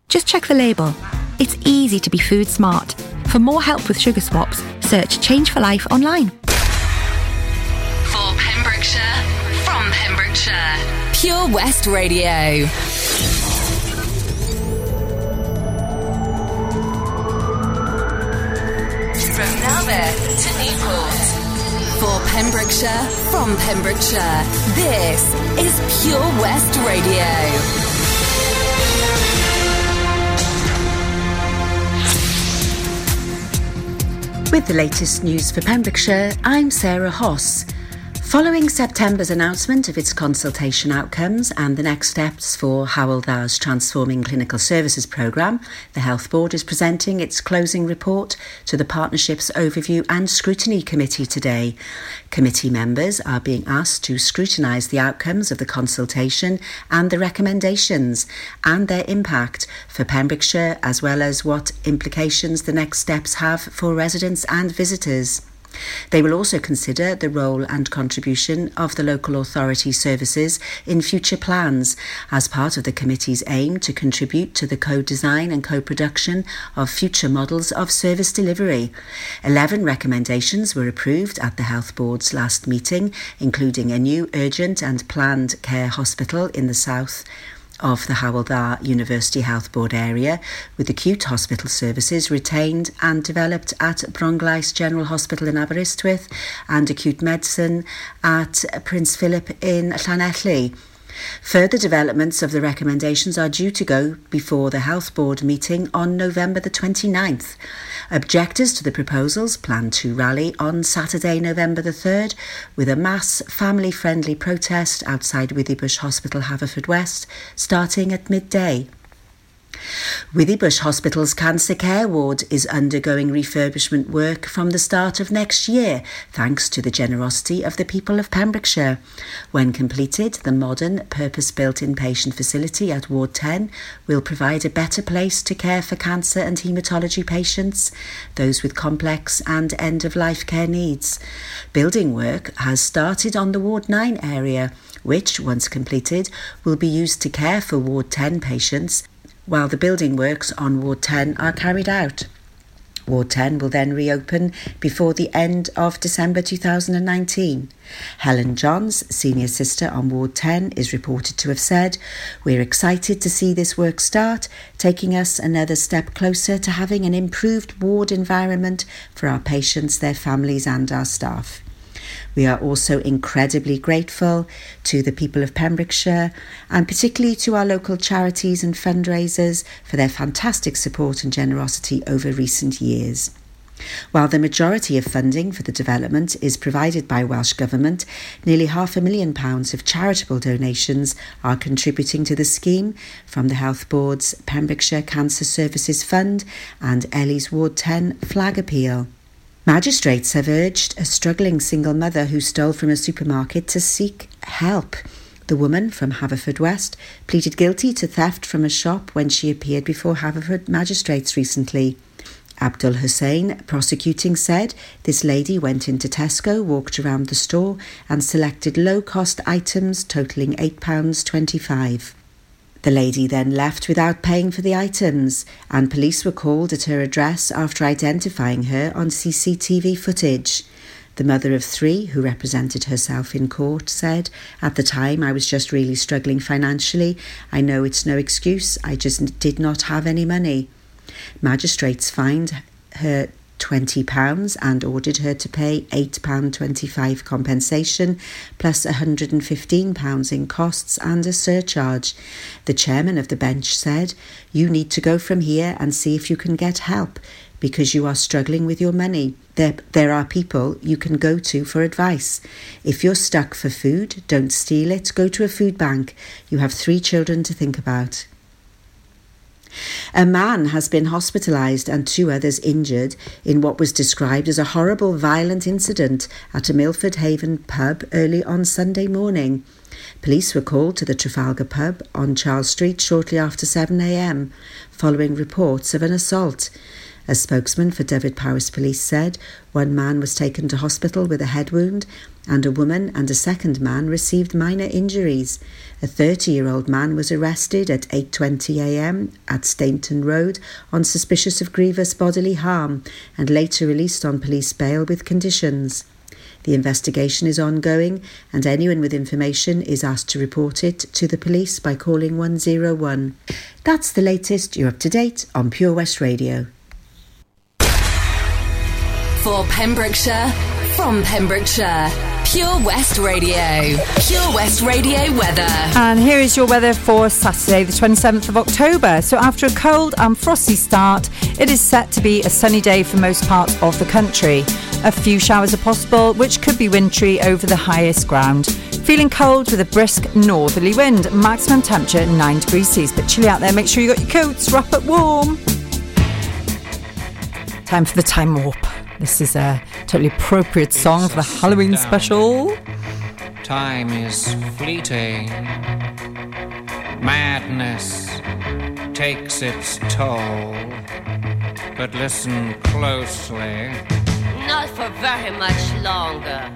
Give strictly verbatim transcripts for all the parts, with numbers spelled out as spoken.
Just check the label. It's easy to be food smart. For more help with sugar swaps, search Change for Life online. For Pembrokeshire, from Pembrokeshire, Pure West Radio. From Narberth to Newport. For Pembrokeshire, from Pembrokeshire, this is Pure West Radio. With the latest news for Pembrokeshire, I'm Sarah Hoss. Following September's announcement of its consultation outcomes and the next steps for Hywel Dda's Transforming Clinical Services programme, the Health Board is presenting its closing report to the Partnership's Overview and Scrutiny Committee today. Committee members are being asked to scrutinise the outcomes of the consultation and the recommendations and their impact for Pembrokeshire, as well as what implications the next steps have for residents and visitors. They will also consider the role and contribution of the local authority services in future plans as part of the committee's aim to contribute to the co-design and co-production of future models of service delivery. Eleven recommendations were approved at the Health Board's last meeting, including a new urgent and planned care hospital in the south of the Hywel Dda University Health Board area, with acute hospital services retained and developed at Bronglais General Hospital in Aberystwyth and acute medicine at Prince Philip in Llanelli. Further developments of the recommendations are due to go before the Health Board meeting on November the twenty-ninth. Objectors to the proposals plan to rally on Saturday, November the third, with a mass family-friendly protest outside Withybush Hospital, Haverfordwest, starting at midday. Withybush Hospital's cancer care ward is undergoing refurbishment work from the start of next year, thanks to the generosity of the people of Pembrokeshire. When completed, the modern, purpose-built inpatient facility at Ward ten will provide a better place to care for cancer and haematology patients, those with complex and end-of-life care needs. Building work has started on the Ward nine area, which, once completed, will be used to care for Ward ten patients, while the building works on Ward ten are carried out. Ward ten will then reopen before the end of December two thousand nineteen. Helen Johns, senior sister on Ward ten, is reported to have said, "We're excited to see this work start, taking us another step closer to having an improved ward environment for our patients, their families and our staff. We are also incredibly grateful to the people of Pembrokeshire and particularly to our local charities and fundraisers for their fantastic support and generosity over recent years." While the majority of funding for the development is provided by Welsh Government, nearly half a million pounds of charitable donations are contributing to the scheme from the Health Board's Pembrokeshire Cancer Services Fund and Ellie's Ward ten flag appeal. Magistrates have urged a struggling single mother who stole from a supermarket to seek help. The woman from Haverfordwest pleaded guilty to theft from a shop when she appeared before Haverford magistrates recently. Abdul Hussain, prosecuting, said this lady went into Tesco, walked around the store and selected low-cost items totalling eight pounds twenty-five. The lady then left without paying for the items, and police were called at her address after identifying her on C C T V footage. The mother of three, who represented herself in court, said, "At the time I was just really struggling financially. I know it's no excuse, I just did not have any money." Magistrates fined her twenty pounds and ordered her to pay eight pounds twenty-five compensation plus one hundred fifteen pounds in costs and a surcharge. The chairman of the bench said, "You need to go from here and see if you can get help because you are struggling with your money. There, there are people you can go to for advice. If you're stuck for food, don't steal it, go to a food bank. You have three children to think about." A man has been hospitalised and two others injured in what was described as a horrible violent incident at a Milford Haven pub early on Sunday morning. Police were called to the Trafalgar pub on Charles Street shortly after seven a m, following reports of an assault. A spokesman for Dyfed-Powys Police said one man was taken to hospital with a head wound and a woman and a second man received minor injuries. A thirty-year-old man was arrested at eight twenty a m at Stainton Road on suspicious of grievous bodily harm and later released on police bail with conditions. The investigation is ongoing and anyone with information is asked to report it to the police by calling one oh one. That's the latest. You're up to date on Pure West Radio. For Pembrokeshire, from Pembrokeshire, Pure West Radio. Pure West Radio weather. And here is your weather for Saturday, the twenty-seventh of October. So after a cold and frosty start, it is set to be a sunny day for most parts of the country. A few showers are possible, which could be wintry over the highest ground. Feeling cold with a brisk northerly wind. Maximum temperature nine degrees Celsius. But chilly out there, make sure you got your coats, wrap up warm. Time for the Time Warp. This is a totally appropriate song for the Halloween special. Time is fleeting. Madness takes its toll. But listen closely. Not for very much longer.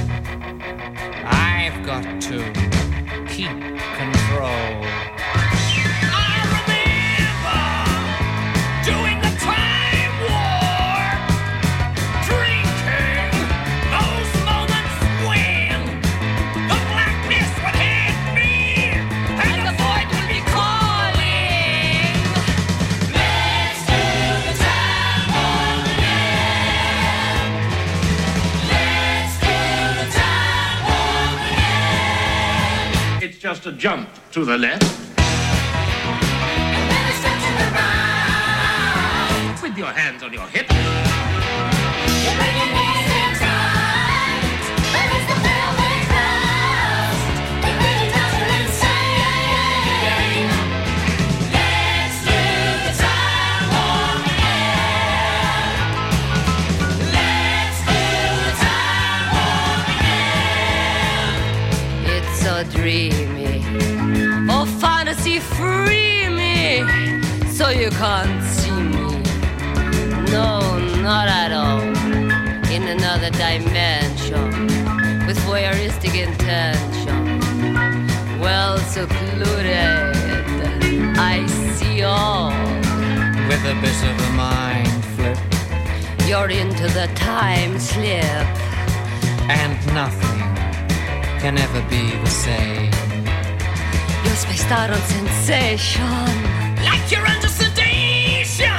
I've got to keep control. I remember doing the time war, drinking those moments when the blackness would hit me and the void would be calling. Let's do the time war again. Let's do the time war again. It's just a jump to the left. And then a step to the right. With your hands on your hips. You bring your knees in tight. Release the pelvic thrust. It really does feel insane. Let's do the time warp again. Let's do the time warp again. It's so dreamy. Oh, fantasy free me. So you can't see me. No, not at all. In another dimension. With voyeuristic intention. Well secluded. I see all. With a bit of a mind flip. You're into the time slip. And nothing can ever be the same. You're spaced out on sensation. Like you're under sedation.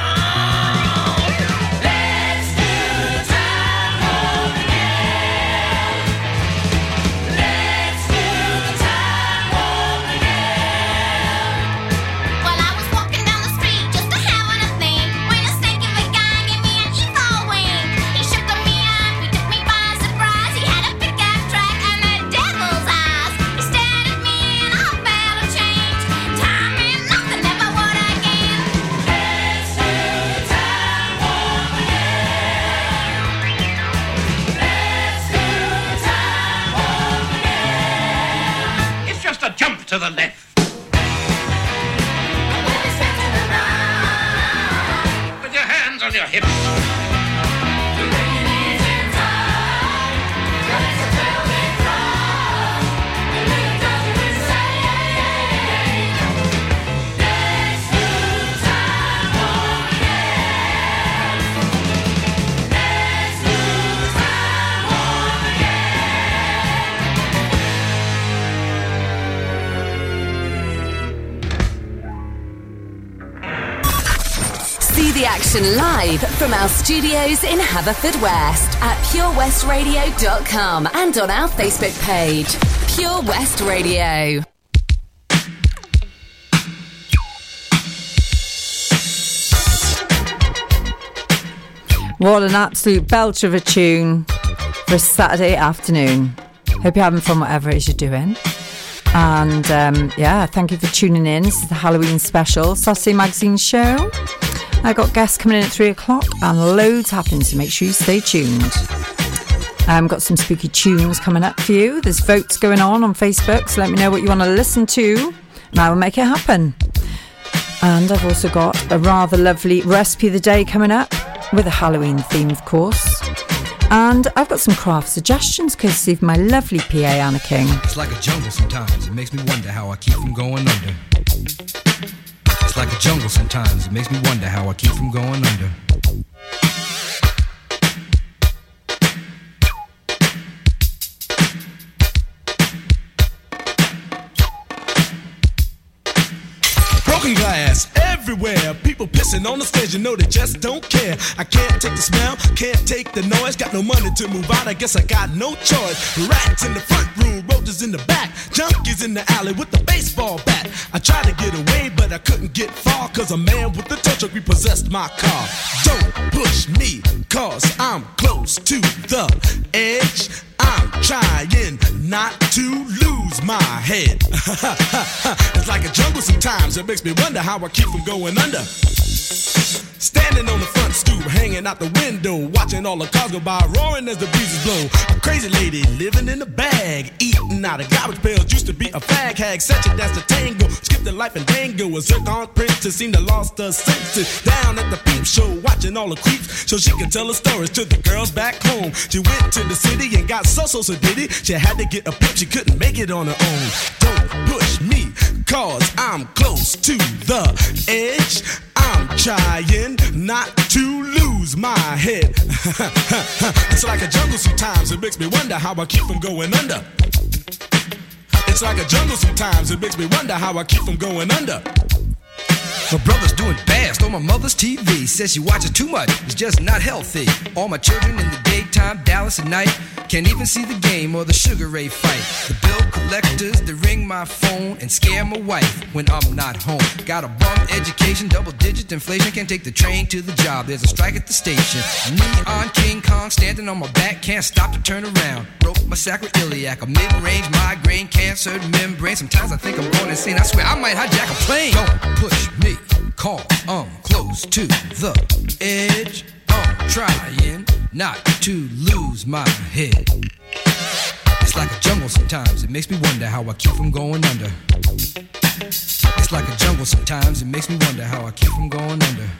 Let's do the time warp again. Let's do the time warp again. Well, I was walking down the street just a having a thing when a snake of a guy gave me an evil wink. He shook me up, he took me by surprise. He had a pickup truck and the devil's eyes. He stared at me and I felt a change. Time and nothing ever would again. Let's do the time warp again. Let's do the time warp again. It's just a jump to the left. And then a step to the right. With your hands on your hips. You bring your knees in tight. Release the pelvic thrust. It really does feel insane. Let's do the time warp again. Let's do the time warp See the action live from our studios in Haverfordwest at pure west radio dot com and on our Facebook page, Pure West Radio. What an absolute belter of a tune for a Saturday afternoon. Hope you're having fun whatever it is you're doing. And um, yeah, thank you for tuning in. This is the Halloween special Saturday Magazine show. I got guests coming in at three o'clock and loads happening, so make sure you stay tuned. I've um, got some spooky tunes coming up for you. There's votes going on on Facebook, so let me know what you want to listen to and I will make it happen. And I've also got a rather lovely recipe of the day coming up. with a Halloween theme, of course. And I've got some craft suggestions courtesy of my lovely P A, Anna King. It's like a jungle sometimes. It makes me wonder how I keep from going under. It's like a jungle sometimes. It makes me wonder how I keep from going under. Broken glass everywhere, people pissing on the stage, you know they just don't care. I can't take the smell, can't take the noise, got no money to move out, I guess I got no choice. Rats in the front room, roaches in the back, junkies in the alley with the baseball bat. I tried to get away, but I couldn't get far, cause a man with the tow truck repossessed my car. Don't push me, cause I'm close to the edge. I'm trying not to lose my head. It's like a jungle sometimes. It makes me wonder how I keep from going under. Standing on the front stoop, hanging out the window, watching all the cars go by, roaring as the breezes blow. A crazy lady living in a bag, eating out of garbage pails. Used to be a fag hag, such a dance to tango. Skipped the life and dango. A zircon princess seemed to lost her senses. Down at the peep show, watching all the creeps, so she could tell her stories to the girls back home. She went to the city and got so so so did it. She had to get a pimp, she couldn't make it on her own. Don't push me, cause I'm close to the edge. I'm trying not to lose my head. It's like a jungle sometimes. It makes me wonder how I keep from going under. It's like a jungle sometimes. It makes me wonder how I keep from going under. My brother's doing bad, stole my mother's T V. Says she watches too much, it's just not healthy. All my children in the daytime, Dallas at night. Can't even see the game or the Sugar Ray fight. The bill collectors, they ring my phone and scare my wife when I'm not home. Got a bum education, double digit inflation. Can't take the train to the job, there's a strike at the station. Neon King Kong standing on my back, can't stop to turn around. Broke my sacroiliac, a mid-range migraine, cancer membrane. Sometimes I think I'm going insane, I swear I might hijack a plane. Don't push me, call, I'm close to the edge. I'm trying not to lose my head. It's like a jungle sometimes, it makes me wonder how I keep from going under. It's like a jungle sometimes, it makes me wonder how I keep from going under.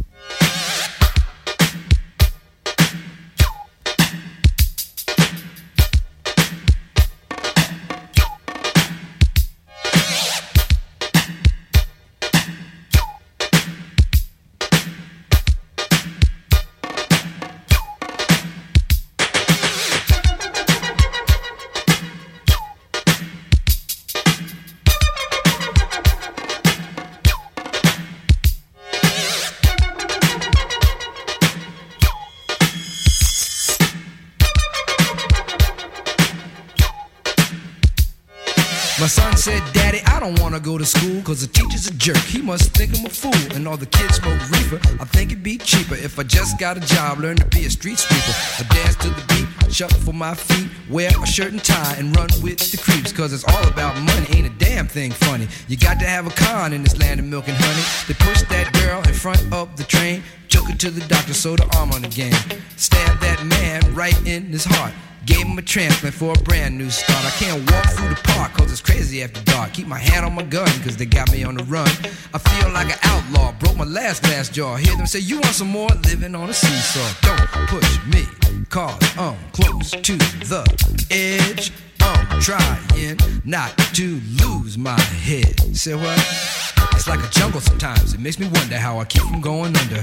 My son said, Daddy, I don't wanna go to school, cause the teacher's a jerk, he must think I'm a fool. And all the kids smoke reefer, I think it'd be cheaper if I just got a job, learn to be a street sweeper. I dance to the beat, shuffle my feet, wear a shirt and tie, and run with the creeps. Cause it's all about money, ain't a damn thing funny. You got to have a con in this land of milk and honey. They pushed that girl in front of the train, took her to the doctor, sewed her arm on the game. Stabbed that man right in his heart, gave him a transplant for a brand new start. I can't walk through the park cause it's crazy after dark. Keep my hand on my gun cause they got me on the run. I feel like an outlaw, broke my last glass jaw. Hear them say, you want some more? Living on a seesaw. Don't push me, cause I'm close to the edge. I'm trying not to lose my head. Say what? It's like a jungle sometimes. It makes me wonder how I keep from going under.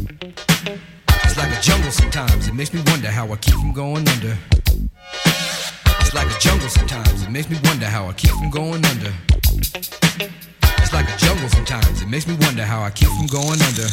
It's like a jungle sometimes. It makes me wonder how I keep from going under. It's like a jungle sometimes. It makes me wonder how I keep from going under. It's like a jungle sometimes. It makes me wonder how I keep from going under.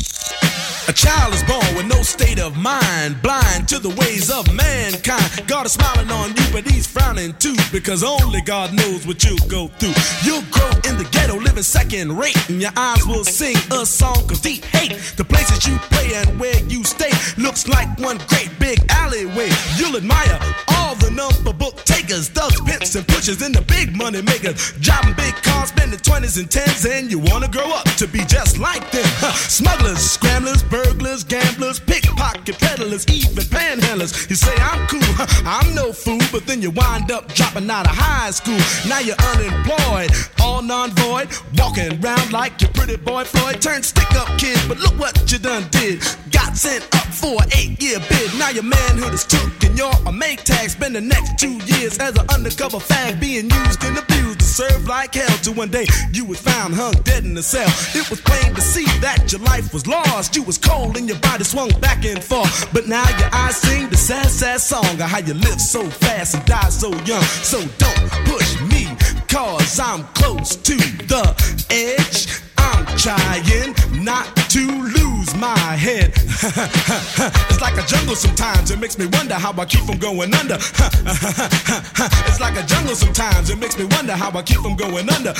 A child is born with no state of mind, blind to the ways of mankind. God is smiling on you, but he's frowning too, because only God knows what you'll go through. You'll grow in the ghetto, living second rate, and your eyes will sing a song of deep hate. The places you play and where you stay looks like one great big alleyway. You'll admire all the number book takers, thugs, pimps, and pushers, and the big money makers, driving big cars, spending twenties and tens, and you wanna grow up to be just like them. Huh. Smugglers, scramblers, burglars, gamblers, pickpocket peddlers, even panhandlers. You say I'm cool, huh, I'm no fool, but then you wind up dropping out of high school. Now you're unemployed, all non-void, walking around like your pretty boy Floyd. Turned stick-up kid, but look what you done did. Got sent up for an eight-year bid. Now your manhood is took and you're a make tag. Spend the next two years as an undercover fag, being used and abused to serve like hell. Till one day you was found hung dead in a cell. It was plain to see that your life was lost. You was cold and your body swung back and forth. But now your eyes sing the sad, sad song of how you live so fast and die so young. So don't push me, cause I'm close to the edge. I'm trying not to lose my head. It's like a jungle sometimes, it makes me wonder how I keep from going under. It's like a jungle sometimes, it makes me wonder how I keep from going under.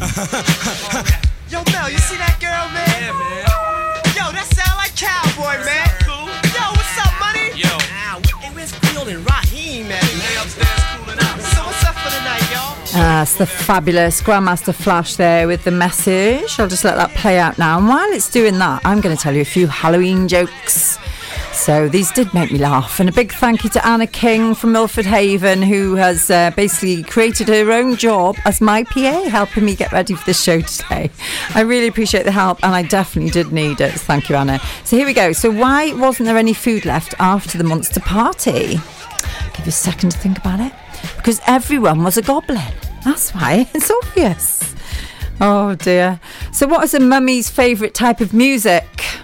Yo, Mel, you see that girl, man? Yeah, man. Yo, that sound like Cowboy, man. Cool. Yo, what's up, money? Yo. Ow, hey, where's Field and Raheem, man? They upstairs cooling out. So what's up for the night, y'all? Ah, it's the fabulous Grandmaster Flash there with the message. I'll just let that play out now. And while it's doing that, I'm going to tell you a few Halloween jokes. So these did make me laugh. And a big thank you to Anna King from Milford Haven, who has uh, basically created her own job as my P A, helping me get ready for this show today. I really appreciate the help, and I definitely did need it. Thank you, Anna. So here we go. So why wasn't there any food left after the monster party? I'll give you a second to think about it. Because everyone was a goblin. That's why. It's obvious. Oh dear. So what is a mummy's favourite type of music?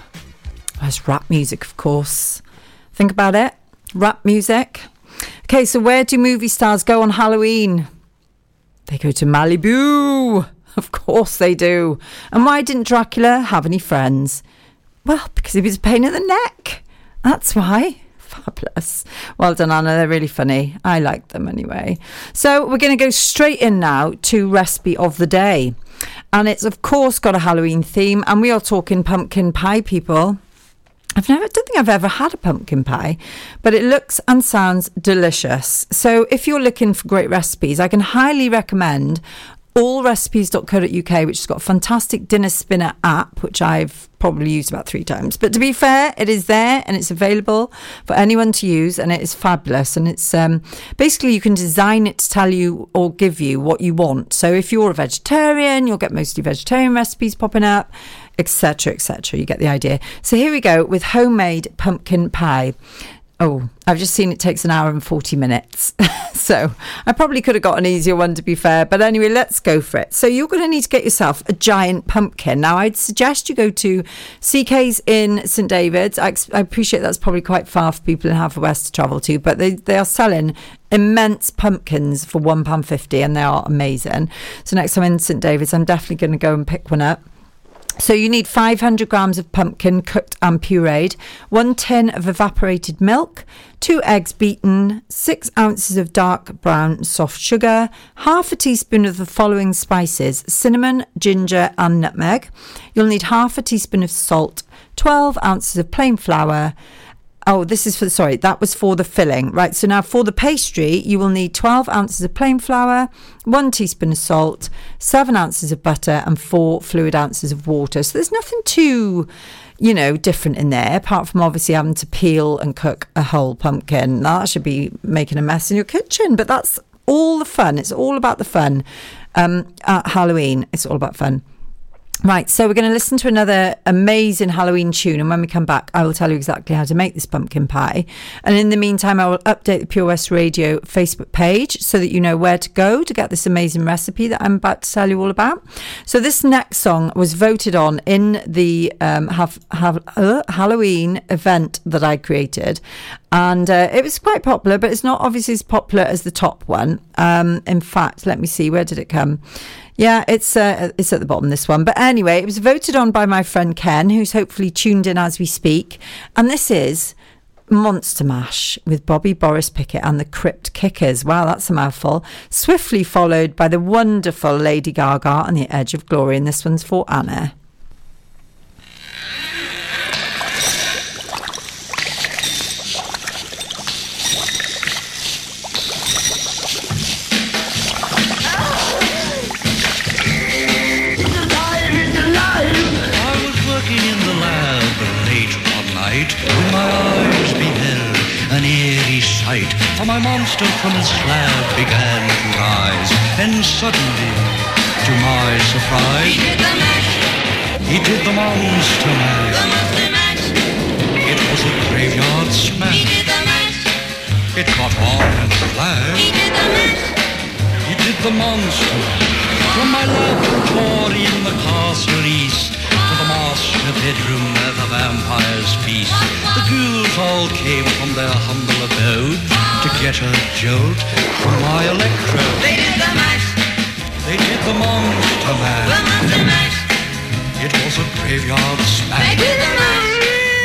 Well, it's rap music, of course. Think about it. Rap music. Okay, so where do movie stars go on Halloween? They go to Malibu. Of course they do. And why didn't Dracula have any friends? Well, because he was a pain in the neck. That's why. Fabulous. Well done, Anna. They're really funny. I like them anyway. So we're going to go straight in now to recipe of the day. And it's, of course, got a Halloween theme. And we are talking pumpkin pie, people. I've never, I don't think I've ever had a pumpkin pie, but it looks and sounds delicious. So if you're looking for great recipes, I can highly recommend all recipes dot co dot uk, which has got a fantastic dinner spinner app, which I've probably used about three times. But to be fair, it is there and it's available for anyone to use, and it is fabulous. And it's um, basically you can design it to tell you or give you what you want. So if you're a vegetarian, you'll get mostly vegetarian recipes popping up, etc, et cetera. You get the idea. So here we go with homemade pumpkin pie. Oh, I've just seen it takes an hour and forty minutes. So I probably could have got an easier one, to be fair. But anyway, let's go for it. So you're going to need to get yourself a giant pumpkin. Now, I'd suggest you go to C K's in St David's. I, I appreciate that's probably quite far for people in Haverfordwest to travel to, but they, they are selling immense pumpkins for one pound fifty, and they are amazing. So next time in St David's, I'm definitely going to go and pick one up. So you need five hundred grams of pumpkin cooked and pureed, one tin of evaporated milk, two eggs beaten, six ounces of dark brown soft sugar, half a teaspoon of the following spices: cinnamon, ginger and nutmeg. You'll need half a teaspoon of salt, twelve ounces of plain flour. Oh, this is for, sorry, that was for the filling. Right, so now for the pastry, you will need twelve ounces of plain flour, one teaspoon of salt, seven ounces of butter and four fluid ounces of water. So there's nothing too, you know, different in there, apart from obviously having to peel and cook a whole pumpkin. Now, that should be making a mess in your kitchen, but that's all the fun. It's all about the fun. Um, at Halloween, it's all about fun. Right, so we're going to listen to another amazing Halloween tune, and when we come back, I will tell you exactly how to make this pumpkin pie. And in the meantime, I will update the Pure West Radio Facebook page so that you know where to go to get this amazing recipe that I'm about to tell you all about. So this next song was voted on in the um, have, have, uh, Halloween event that I created, and uh, it was quite popular, but it's not obviously as popular as the top one. Um, in fact, let me see, where did it come? Yeah, it's uh, it's at the bottom, this one. But anyway, it was voted on by my friend Ken, who's hopefully tuned in as we speak. And this is Monster Mash with Bobby Boris Pickett and the Crypt Kickers. Wow, that's a mouthful. Swiftly followed by the wonderful Lady Gaga and the Edge of Glory. And this one's for Anna. When my eyes beheld an eerie sight, for my monster from his slab began to rise, and suddenly, to my surprise, he did the mash. He did the monster mash. The monster mash. It was a graveyard smash. He did the mash. It caught on in a flash. He did the mash. He did the monster. From my laboratory in the castle east to the master bedroom where the vampires feast. The ghouls all came from their humble abode to get a jolt from my electrode. They did the mash. They did the monster mash. The monster mash. It was a graveyard smash. They did the mash.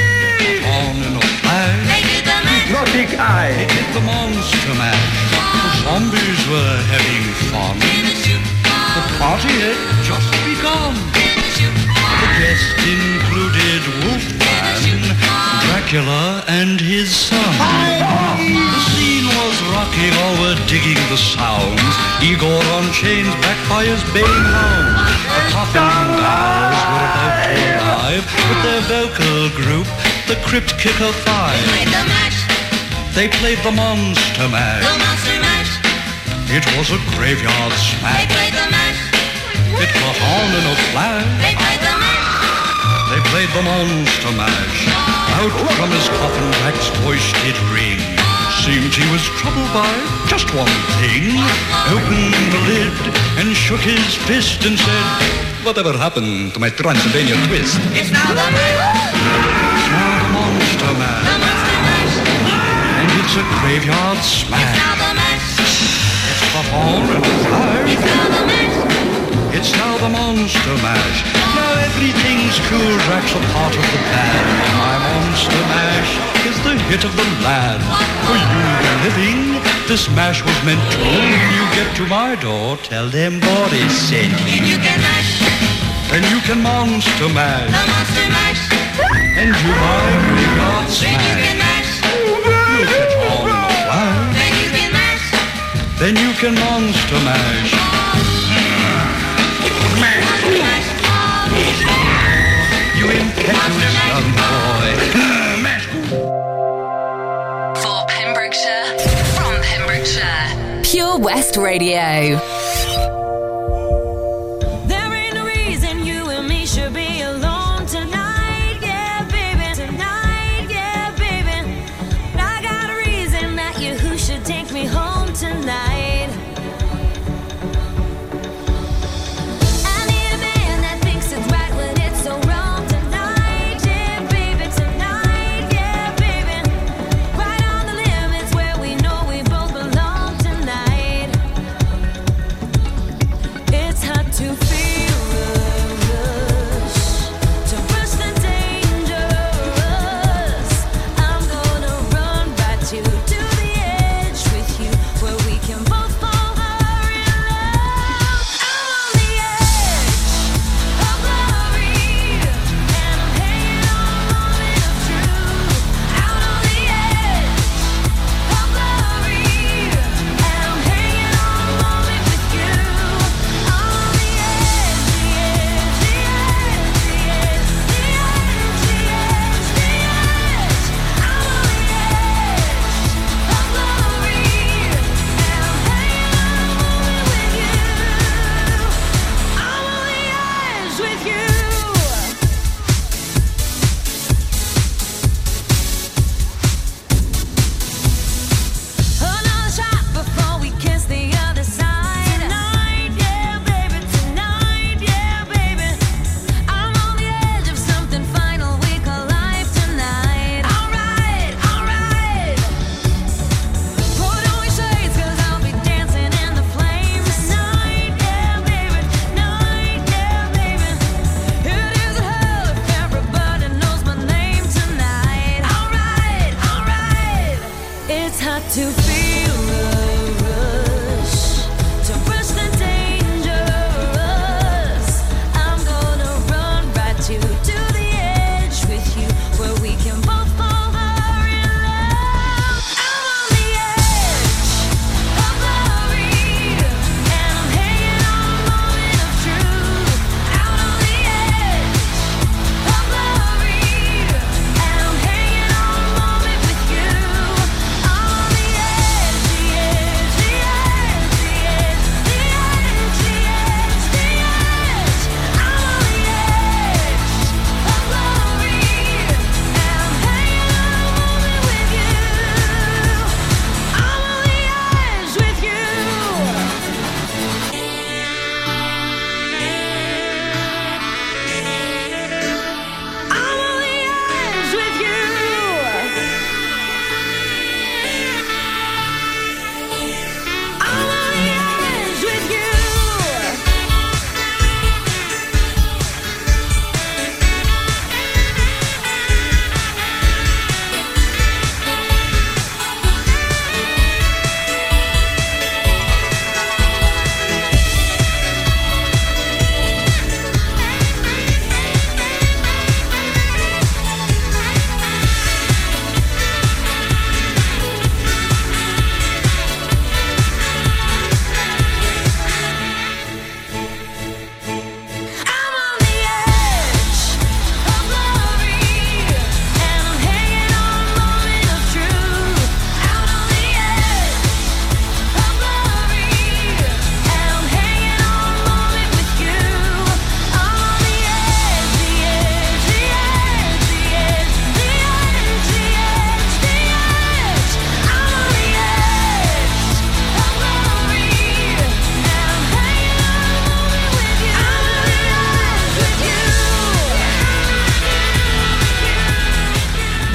On in a flash. They did the mash. Hypnotic eye. They did the monster mash. The zombies were having fun. The party had just begun. The guests included Wolfman, Dracula, and his son. The scene was rocking, all were digging the sounds. Igor on chains, backed by his baying hounds. The Coffin Dolls were about to arrive with their vocal group, the Crypt Kicker Five. They played the mash. They played the Monster Mash. The monster mash. It was a graveyard They smash. played the mash. It caught on in a flash. They played the mash. They played the Monster Mash. Out from his coffin, Drac's voice did ring. Seemed he was troubled by just one thing. Opened the lid and shook his fist and said, "Whatever happened to my Transylvania twist?" It's now the mash. Now the Monster Mash. The monster mash. And it's a graveyard It's smash. now the mash. It's caught on in a flash. It's now the mash. It's now the Monster Mash. Now everything's cool, Drac's a part of the plan. My Monster Mash is the hit of the land. For you, the living, this mash was meant to. When you get to my door, tell them Boris sent you. And you can mash. And you can Monster Mash. The monster mash. And you my graveyard Then you can smash. mash. You catch on in a flash. Then you can mash. Then you can Monster Mash. You impetuous young boy. For Pembrokeshire, from Pembrokeshire, Pure West Radio. There ain't no reason you and me should be alone tonight, yeah, baby. Tonight, yeah, baby. But I got a reason that you who should take me home tonight. I need a man that thinks it's right when it's so wrong tonight, yeah, baby. Tonight, yeah, baby. Right on the limits where we know we both belong tonight. It's hard to feel the rush, to rush the dangerous. I'm gonna run right to to the edge with you, where we can both fall in love. I'm on the edge of glory, and I'm hanging on a moment of truth. Out on the edge of glory, and I'm hanging on a moment with you. On the edge, the edge, the edge, the edge, the edge, the edge, the edge. I'm on the edge of glory, and I'm hanging on a moment with you. I'm on the edge with you. Another shot before we kiss the other side. Tonight, yeah, baby. Tonight, yeah, baby. I'm on the edge of something final we call life tonight. Alright, alright. Put on your shades, 'cause I'll be dancing in the flames. Tonight, yeah, baby. Tonight, yeah, baby. It is a hell if everybody knows my name tonight. Alright, alright. It's hard to feel the rush, to rush the dangerous. I'm gonna run right to to the edge with you, where we can both fall in love. I'm on the edge of glory, and I'm hanging on a moment of truth. Out on the edge of glory, and I'm hanging on a moment with you. On the edge.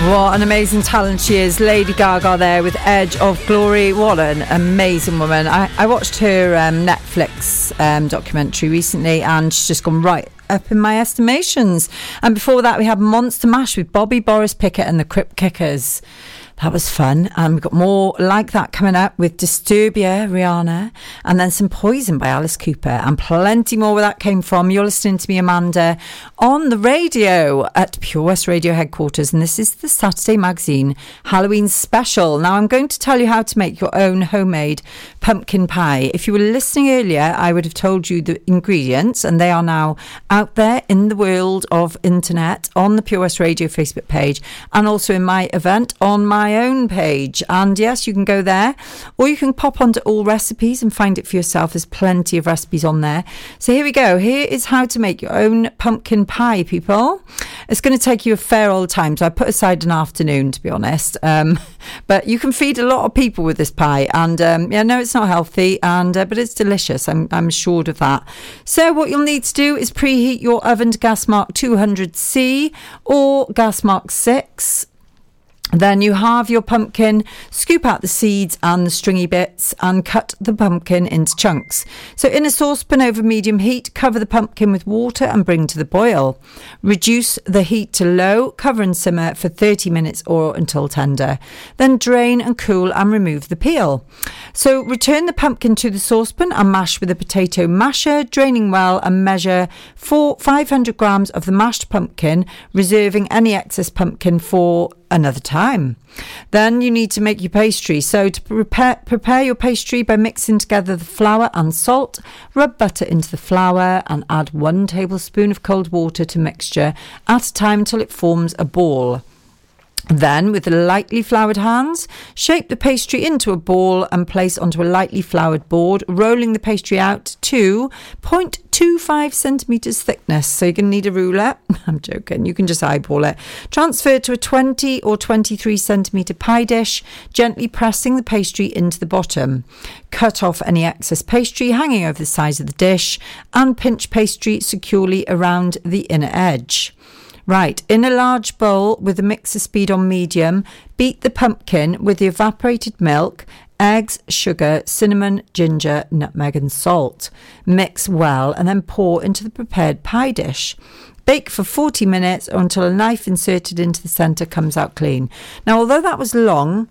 What an amazing talent she is. Lady Gaga there with Edge of Glory. What an amazing woman. I, I watched her um, Netflix um, documentary recently, and she's just gone right up in my estimations. And before that, we had Monster Mash with Bobby, Boris Pickett and the Crypt Kickers. That was fun. And we've got more like that coming up with Disturbia, Rihanna, and then some Poison by Alice Cooper, and plenty more where that came from. You're listening to me, Amanda, on the radio at Pure West Radio headquarters, and this is the Saturday Magazine Halloween special. Now, I'm going to tell you how to make your own homemade pumpkin pie. If you were listening earlier, I would have told you the ingredients, and they are now out there in the world of internet on the Pure West Radio Facebook page, and also in my event on my own page. And yes, you can go there, or you can pop onto All Recipes and find it for yourself. There's plenty of recipes on there. So here we go. Here is how to make your own pumpkin pie, people. It's going to take you a fair old time, so I put aside an afternoon, to be honest. Um, but you can feed a lot of people with this pie, and um, yeah, no, it's not healthy, and uh, but it's delicious. I'm I'm assured of that. So what you'll need to do is preheat your oven to gas mark two hundred C or gas mark six. Then you halve your pumpkin, scoop out the seeds and the stringy bits, and cut the pumpkin into chunks. So in a saucepan over medium heat, cover the pumpkin with water and bring to the boil. Reduce the heat to low, cover and simmer for thirty minutes or until tender. Then drain and cool and remove the peel. So return the pumpkin to the saucepan and mash with a potato masher, draining well, and measure for five hundred grams of the mashed pumpkin, reserving any excess pumpkin for another time. Then you need to make your pastry. So to prepare prepare your pastry by mixing together the flour and salt, rub butter into the flour and add one tablespoon of cold water to mixture at a time until it forms a ball. Then, with the lightly floured hands, shape the pastry into a ball and place onto a lightly floured board, rolling the pastry out to zero point two five centimetres thickness. So you're going to need a ruler. I'm joking. You can just eyeball it. Transfer to a twenty or twenty-three centimetre pie dish, gently pressing the pastry into the bottom. Cut off any excess pastry hanging over the sides of the dish and pinch pastry securely around the inner edge. Right, in a large bowl with the mixer speed on medium, beat the pumpkin with the evaporated milk, eggs, sugar, cinnamon, ginger, nutmeg and salt. Mix well and then pour into the prepared pie dish. Bake for forty minutes or until a knife inserted into the centre comes out clean. Now, although that was long,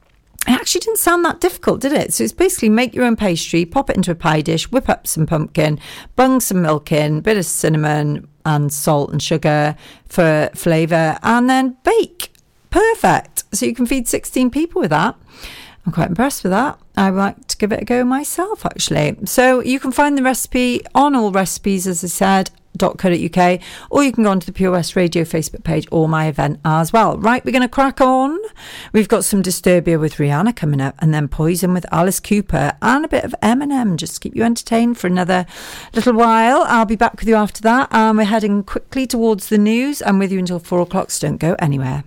it actually didn't sound that difficult, did it? So it's basically make your own pastry, pop it into a pie dish, whip up some pumpkin, bung some milk in, bit of cinnamon and salt and sugar for flavour, and then bake. Perfect. So you can feed sixteen people with that. I'm quite impressed with that. I would like to give it a go myself, actually. So you can find the recipe on All Recipes, as I said, .co.uk, or you can go onto the Pure West Radio Facebook page or my event as well. Right, we're going to crack on. We've got some Disturbia with Rihanna coming up, and then Poison with Alice Cooper, and a bit of Eminem just to keep you entertained for another little while. I'll be back with you after that, and we're heading quickly towards the news. I'm with you until four o'clock, so don't go anywhere.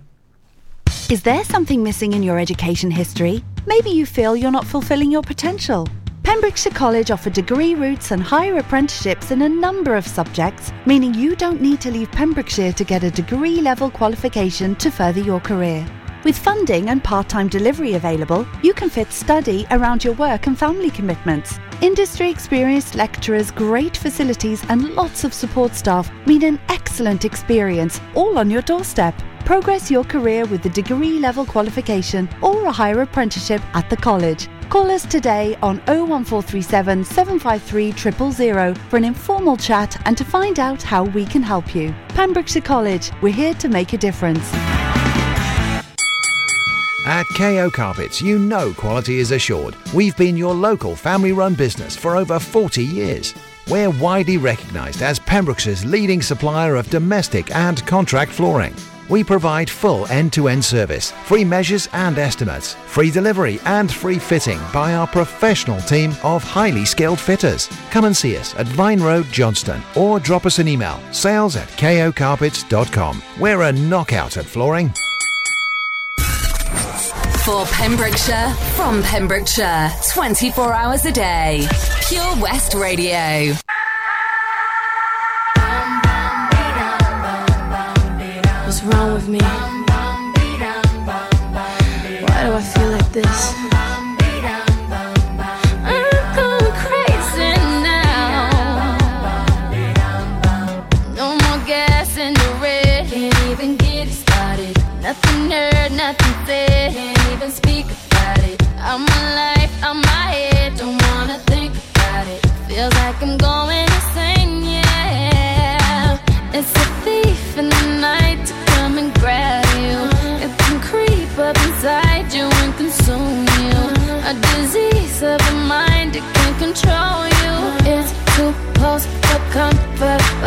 Is there something missing in your education history? Maybe you feel you're not fulfilling your potential. Pembrokeshire College offer degree routes and higher apprenticeships in a number of subjects, meaning you don't need to leave Pembrokeshire to get a degree-level qualification to further your career. With funding and part-time delivery available, you can fit study around your work and family commitments. Industry-experienced lecturers, great facilities and lots of support staff mean an excellent experience, all on your doorstep. Progress your career with the degree-level qualification or a higher apprenticeship at the college. Call us today on oh one four three seven, seven five three, zero zero zero for an informal chat and to find out how we can help you. Pembrokeshire College, we're here to make a difference. At K O Carpets, you know quality is assured. We've been your local family-run business for over forty years. We're widely recognised as Pembrokeshire's leading supplier of domestic and contract flooring. We provide full end-to-end service, free measures and estimates, free delivery and free fitting by our professional team of highly skilled fitters. Come and see us at Vine Road, Johnston, or drop us an email, sales at ko carpets dot com. We're a knockout at flooring. For Pembrokeshire, from Pembrokeshire, twenty-four hours a day. Pure West Radio. What's wrong with me? this. I'm going crazy now. No more gas in the red. Can't even get it started. Nothing heard, nothing said. Can't even speak about it. I'm alive, I'm my head. Don't wanna think about it. Feels like I'm going insane, yeah. It's a thief in the night to come and grab you. It can creep up inside you and consume you. A disease of the mind, it can control you. It's too close for comfort. Oh.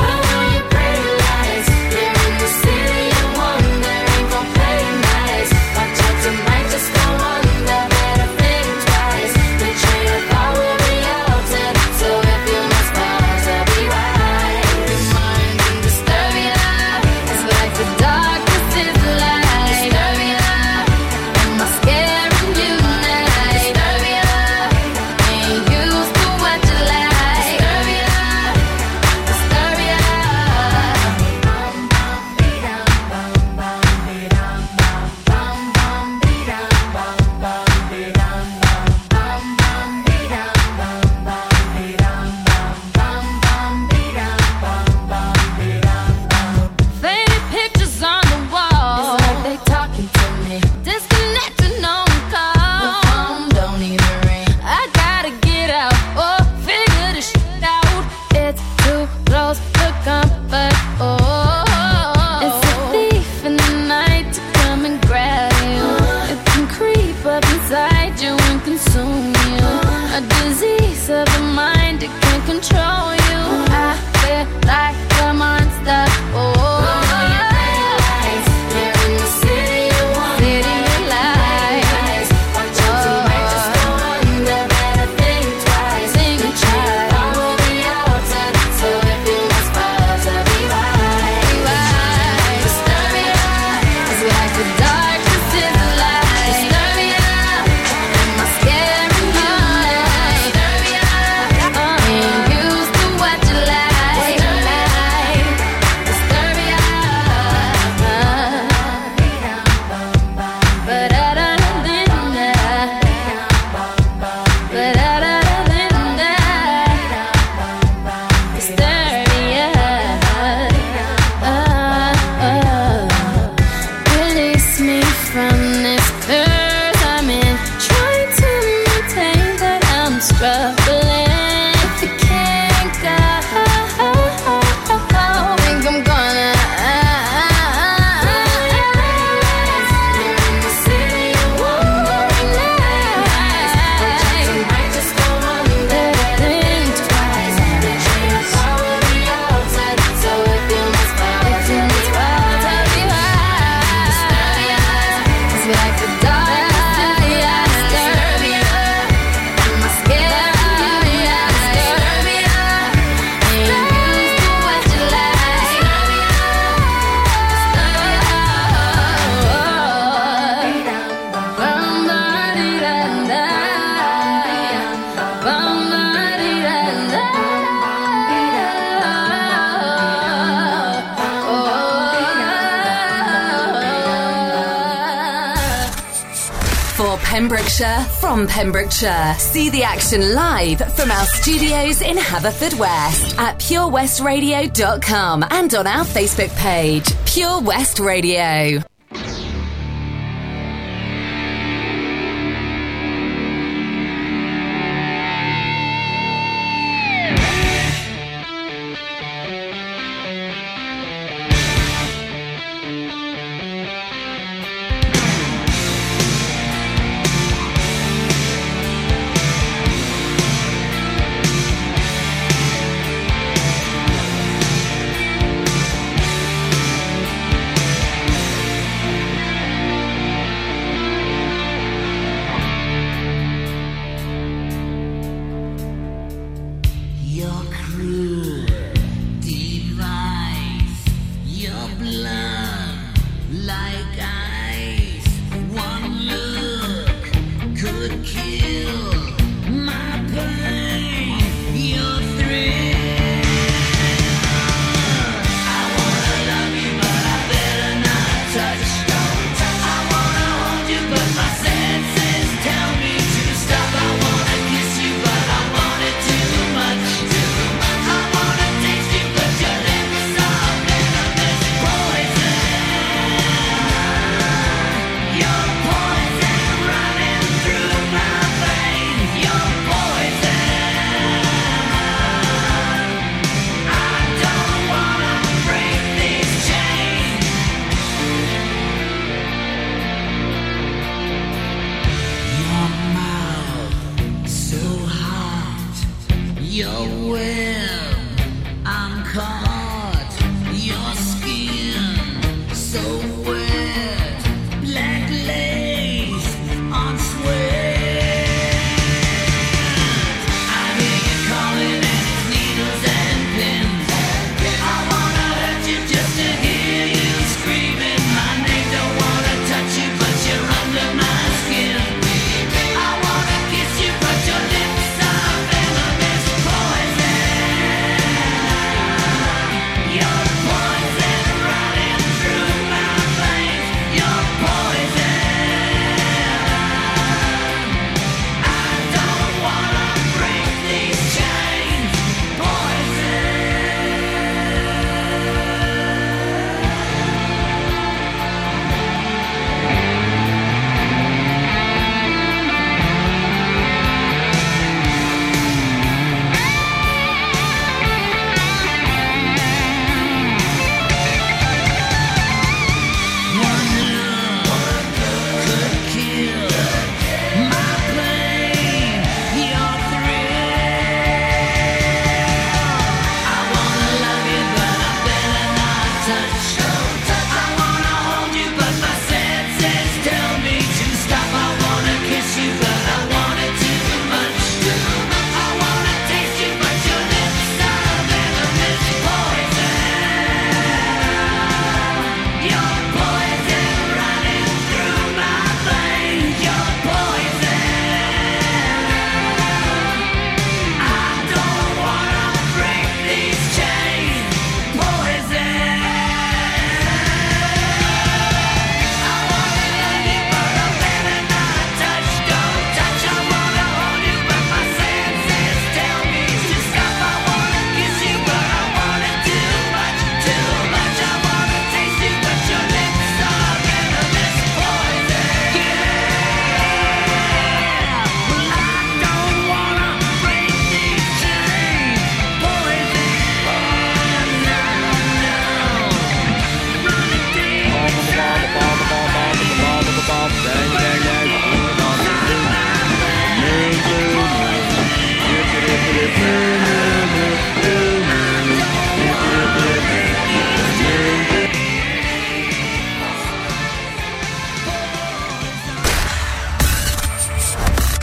Pembrokeshire, from Pembrokeshire. See the action live from our studios in Haverfordwest at pure west radio dot com and on our Facebook page, Pure West Radio.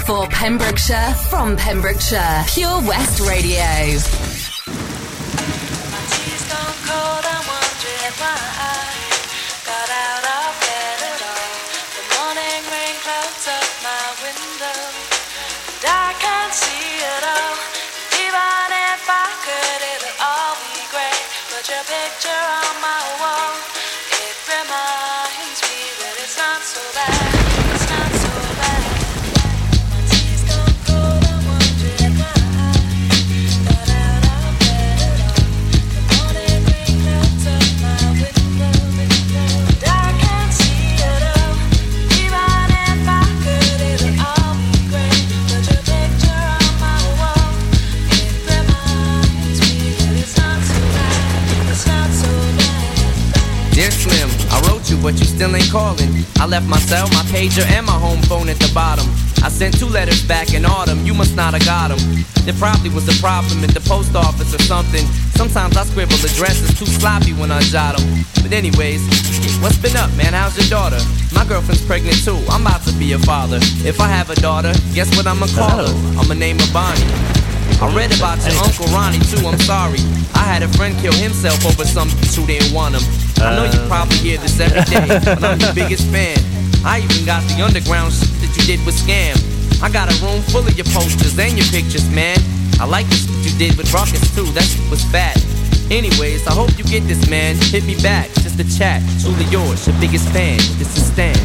For Pembrokeshire, from Pembrokeshire, Pure West Radio. But you still ain't calling. I left my cell, my pager, and my home phone at the bottom. I sent two letters back in autumn, you must not have got them. There probably was a problem at the post office or something. Sometimes I scribble addresses too sloppy when I jot them. But anyways, what's been up, man? How's your daughter? My girlfriend's pregnant too, I'm about to be a father. If I have a daughter, guess what I'ma call her? I'ma name her Bonnie. I read about your Uncle Ronnie too, I'm sorry. I had a friend kill himself over some bitch who didn't want him. I know you probably hear this every day, but I'm your biggest fan. I even got the underground shit that you did with Scam. I got a room full of your posters and your pictures, man. I like the shit you did with Ruckus too, that shit was fat. Anyways, I hope you get this, man. Hit me back, just a chat. Truly yours, your biggest fan. This is Stan.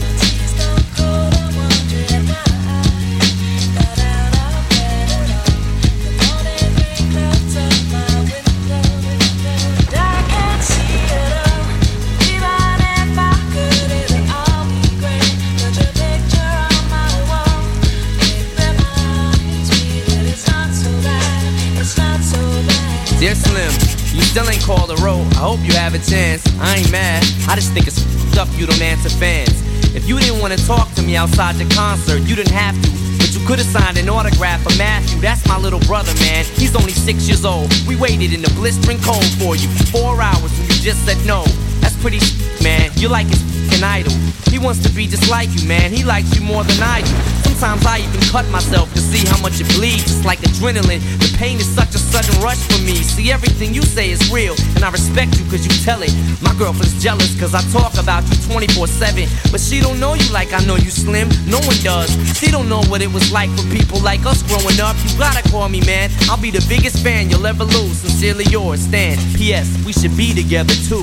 Dear Slim, you still ain't called a row. I hope you have a chance. I ain't mad. I just think it's f***ed up you don't answer fans. If you didn't want to talk to me outside the concert, you didn't have to. But you could have signed an autograph for Matthew. That's my little brother, man. He's only six years old. We waited in the blistering cold for you for four hours and you just said no. That's pretty shit, man. You're like his f***ing idol. He wants to be just like you, man. He likes you more than I do. Sometimes I even cut myself to see how much it bleeds. It's like adrenaline. The pain is such a sudden rush for me. See, everything you say is real, and I respect you cause you tell it. My girlfriend's jealous cause I talk about you twenty-four seven. But she don't know you like I know you, Slim. No one does. She don't know what it was like for people like us growing up. You gotta call me, man. I'll be the biggest fan you'll ever lose. Sincerely yours, Stan. P S. We should be together too.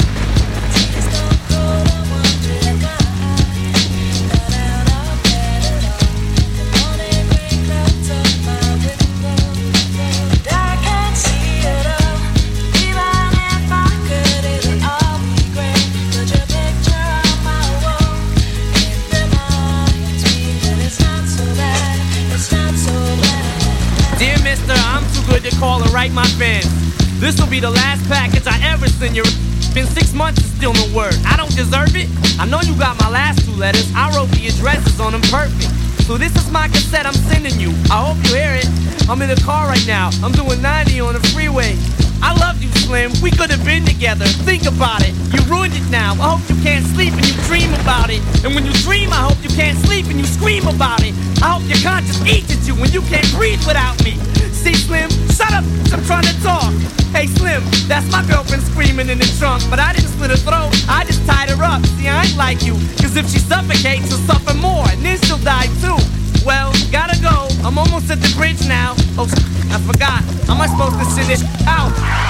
To call and write my fans. This will be the last package I ever send you. Been six months and still no word. I don't deserve it. I know you got my last two letters. I wrote the addresses on them perfect. So this is my cassette I'm sending you. I hope you hear it. I'm in the car right now. I'm doing ninety on the freeway. I love you, Slim. We could have been together. Think about it. You ruined it now. I hope you can't sleep and you dream about it. And when you dream, I hope you can't sleep and you scream about it. I hope your conscience eats at you when you can't breathe without me. See, Slim, shut up, I'm trying to talk. Hey, Slim, that's my girlfriend screaming in the trunk. But I didn't slit her throat, I just tied her up. See, I ain't like you, cause if she suffocates, she'll suffer more, and then she'll die too. Well, gotta go, I'm almost at the bridge now. Oh, I forgot, how am I supposed to send this out?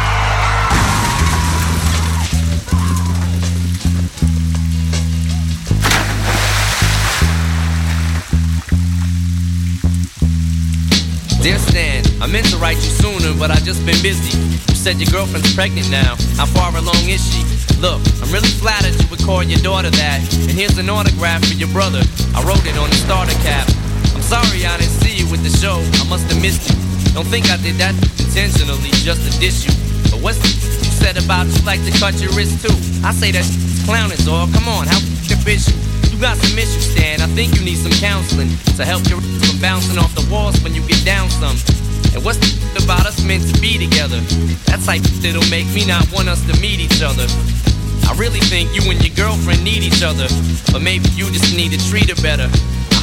Dear Stan, I meant to write you sooner, but I just been busy. You said your girlfriend's pregnant now. How far along is she? Look, I'm really flattered you would call your daughter that. And here's an autograph for your brother. I wrote it on the starter cap. I'm sorry I didn't see you with the show. I must have missed you. Don't think I did that intentionally just to diss you. But what's the you said about you like to cut your wrist too? I say that clown is all. Come on, how the bitch you? You got some issues, Stan. I think you need some counseling to help your from bouncing off the walls when you get down some. And what's the about us meant to be together? That's like that'll make me not want us to meet each other. I really think you and your girlfriend need each other, but maybe you just need to treat her better. I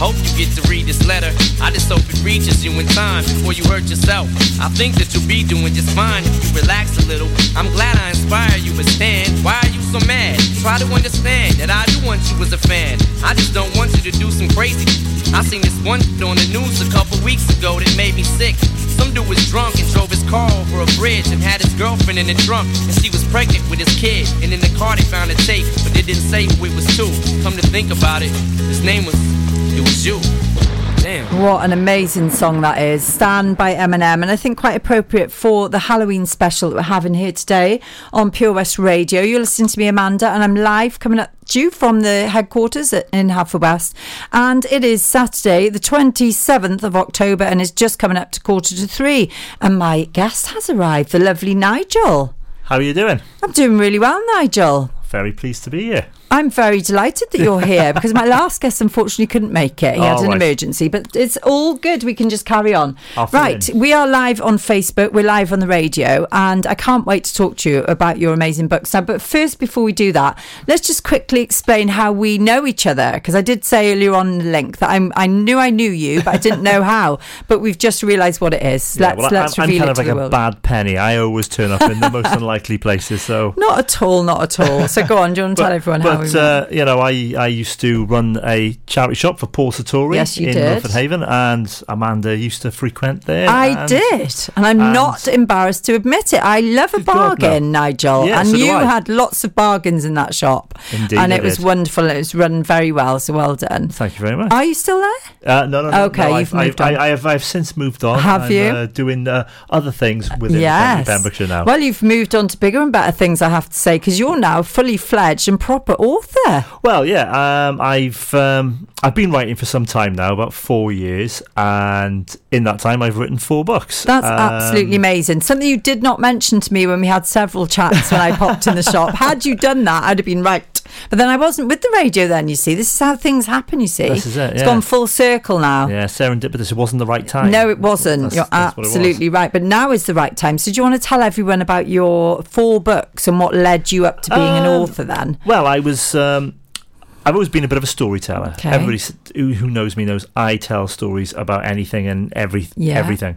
hope you get to read this letter. I just hope it reaches you in time before you hurt yourself. I think that you'll be doing just fine if you relax a little. I'm glad I inspire you, but Stan, why are you so mad? Try to understand that I do want you as a fan. I just don't want you to do some crazy. I seen this one on the news a couple weeks ago that made me sick. Some dude was drunk and drove his car over a bridge and had his girlfriend in the trunk, and she was pregnant with his kid. And in the car they found a tape, but they didn't say who it was to. Come to think about it, his name was, it was you. Damn. What an amazing song that is. Stan by Eminem, and I think quite appropriate for the Halloween special that we're having here today on Pure West Radio. You're listening to me, Amanda, and I'm live coming up to you from the headquarters at, in Haverfordwest, and it is Saturday the twenty-seventh of October, and it's just coming up to quarter to three, and my guest has arrived, the lovely Nigel. How are you doing? I'm doing really well, Nigel. Very pleased to be here. I'm very delighted that you're here because my last guest unfortunately couldn't make it. He had Oh, an right. emergency, but it's all good. We can just carry on. I'll fill Right, in. we are live on Facebook. We're live on the radio, and I can't wait to talk to you about your amazing books now. But first, before we do that, let's just quickly explain how we know each other, because I did say earlier on in the link that I'm, I knew I knew you, but I didn't know how. But we've just realised what it is. Yeah, let's well, let's I'm, I'm reveal kind it of to like the a world. bad penny. I always turn up in the most unlikely places. So Not at all, not at all. So go on, do you want to But, tell everyone how we but met? uh, you know, I, I used to run a charity shop for Paul Sartori Yes, you in did. Milford Haven, and Amanda used to frequent there. I and did, and I'm and- not embarrassed to admit it. I love a Good God, bargain, no. Nigel, Yeah, and so do you I. had lots of bargains in that shop. Indeed and I it was did. wonderful. It was run very well, so well done. Thank you very much. Are you still there? Uh, no, no, no. Okay, no, you've I've, moved I've, on. I, I have. I've since moved on. Have I'm, you? Uh, doing uh, other things within Yes. Pembrokeshire now. Well, you've moved on to bigger and better things, I have to say, because you're now fully fledged and proper author. Well, yeah, um, I've um, I've been writing for some time now, about four years, and in that time, I've written four books. That's Um, absolutely amazing. Something you did not mention to me when we had several chats when I popped in the shop. Had you done that, I'd have been right. But then I wasn't with the radio then, you see. This is how things happen, you see. This is it, It's yeah. gone full circle now. Yeah, serendipitous. It wasn't the right time. No, it wasn't. That's- You're that's what it was. absolutely right. But now is the right time. So do you want to tell everyone about your four books and what led you up to being an Um, author then? Well, I was. Um, I've always been a bit of a storyteller. Okay. Everybody s- who who knows me knows I tell stories about anything and every Yeah. everything,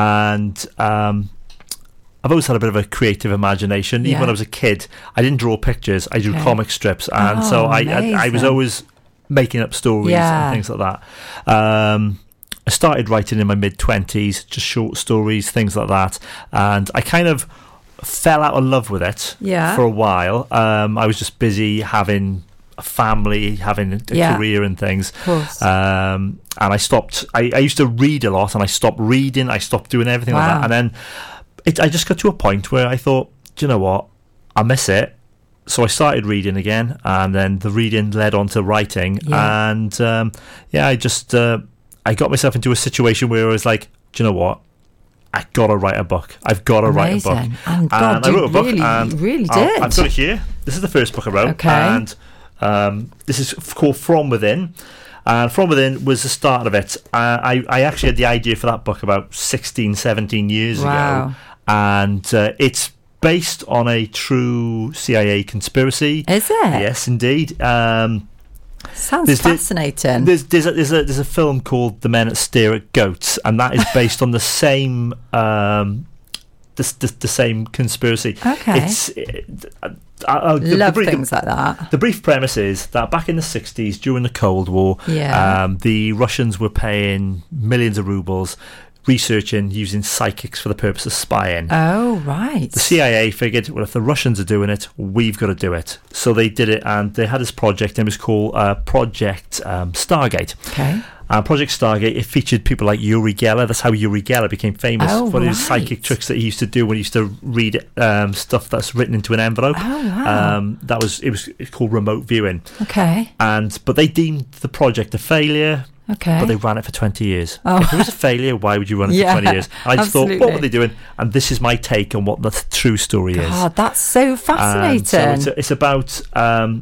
and um, I've always had a bit of a creative imagination. Even Yeah. when I was a kid, I didn't draw pictures. I drew Okay. comic strips, and so Oh, I, I I was amazing. always making up stories Yeah. and things like that. Um, I started writing in my mid twenties, just short stories, things like that, and I kind of fell out of love with it Yeah. for a while. Um, I was just busy having a family, having a Yeah. career and things. Of course. Um, and I stopped. I, I used to read a lot, and I stopped reading. I stopped doing everything like Wow. that. And then it, I just got to a point where I thought, do you know what? I miss it. So I started reading again, and then the reading led on to writing. Yeah. And um, yeah, I just uh, I got myself into a situation where I was like, do you know what? I gotta write a book. I've got to write a book. Amazing. And God, I you wrote a book, really- and you really I'll- did. I've got it here. This is the first book I wrote, Okay. and um, this is f- called From Within. And From Within was the start of it. Uh, I I actually had the idea for that book about sixteen, seventeen years Wow. ago, and uh, it's based on a true C I A conspiracy. Is it? Yes, indeed. Um, Sounds there's the- fascinating. there's there's a, there's a there's a film called The Men That Stare at Goats, and that is based on the same um, the, the the same conspiracy. Okay. It's it, uh, uh, the, Love the, brief- things like that. The brief premise is that back in the sixties, during the Cold War, Yeah. um, the Russians were paying millions of rubles researching using psychics for the purpose of spying. Oh, right. The C I A figured, well, if the Russians are doing it, we've got to do it. So they did it, and they had this project, and it was called uh, Project um, Stargate. Okay. Uh, Project Stargate, it featured people like Uri Geller. That's how Uri Geller became famous Oh, for his right. psychic tricks that he used to do when he used to read um, stuff that's written into an envelope. Oh, wow. Um, that was it was it's called remote viewing. Okay. And but they deemed the project a failure. Okay. But they ran it for twenty years. Oh. If it was a failure, why would you run it Yeah, for twenty years? And I just thought, absolutely. what were they doing? And this is my take on what the th- true story is. God, that's so And fascinating. so it's, it's about um,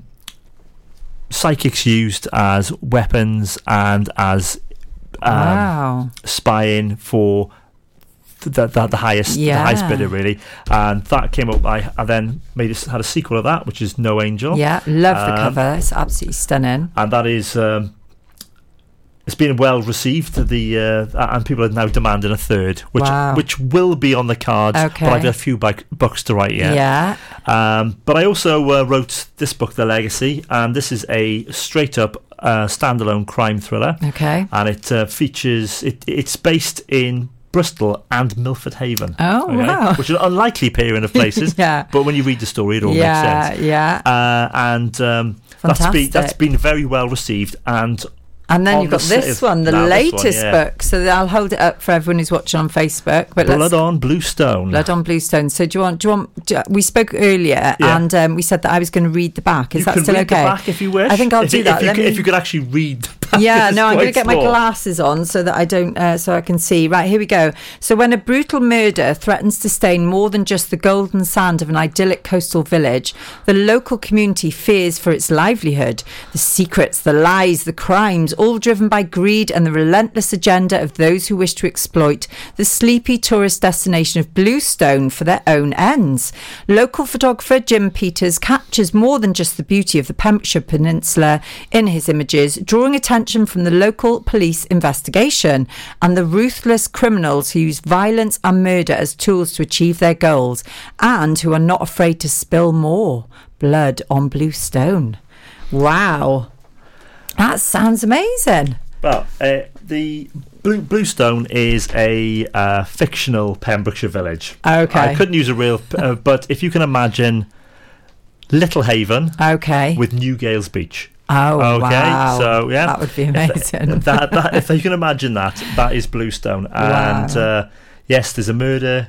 psychics used as weapons and as um, Wow. spying for the, the, the highest the Yeah. highest bidder, really. And that came up. I, I then made a, had a sequel of that, which is No Angel. Yeah, love the Um, cover. It's absolutely stunning. and that is um, it's been well received. The uh, and people are now demanding a third, which Wow. which will be on the cards. Okay. But I've got a few bike, books to write yet. Yeah. Um, but I also uh, wrote this book, The Legacy, and this is a straight up uh, standalone crime thriller. Okay. And it uh, features. It, it's based in Bristol and Milford Haven. Oh, wow. Which is an unlikely pairing of places. Yeah. But when you read the story, it all Yeah, makes sense. yeah. Uh, and um, that's been Fantastic. that's been very well received. And And then on you've got the this s- one, the now this one, latest yeah. book. So I'll hold it up for everyone who's watching on Facebook. But Blood let's, on Bluestone. Blood on Bluestone. So do you want? Do you want? Do, we spoke earlier, Yeah. and um, we said that I was going to read the back. Is you that can still read okay? the back if you wish. I think I'll if, do if that. You Let could, me- if you could actually read the back. Yeah, it's no, I'm going to quite get my small. glasses on so that I don't, uh, so I can see. Right, here we go. So when a brutal murder threatens to stain more than just the golden sand of an idyllic coastal village, the local community fears for its livelihood. The secrets, the lies, the crimes, all driven by greed and the relentless agenda of those who wish to exploit the sleepy tourist destination of Bluestone for their own ends. Local photographer Jim Peters captures more than just the beauty of the Pembrokeshire Peninsula in his images, drawing attention from the local police investigation and the ruthless criminals who use violence and murder as tools to achieve their goals and who are not afraid to spill more blood on Bluestone. Wow. That sounds amazing. Well, uh, the Blue, Bluestone is a uh, fictional Pembrokeshire village. Okay. I couldn't use a real, uh, but if you can imagine Little Haven, okay, with Newgales Beach. Oh, okay. wow. So yeah, That would be If- amazing. that, that, if you can imagine that, that is Bluestone. And Wow. uh, yes, there's a murder,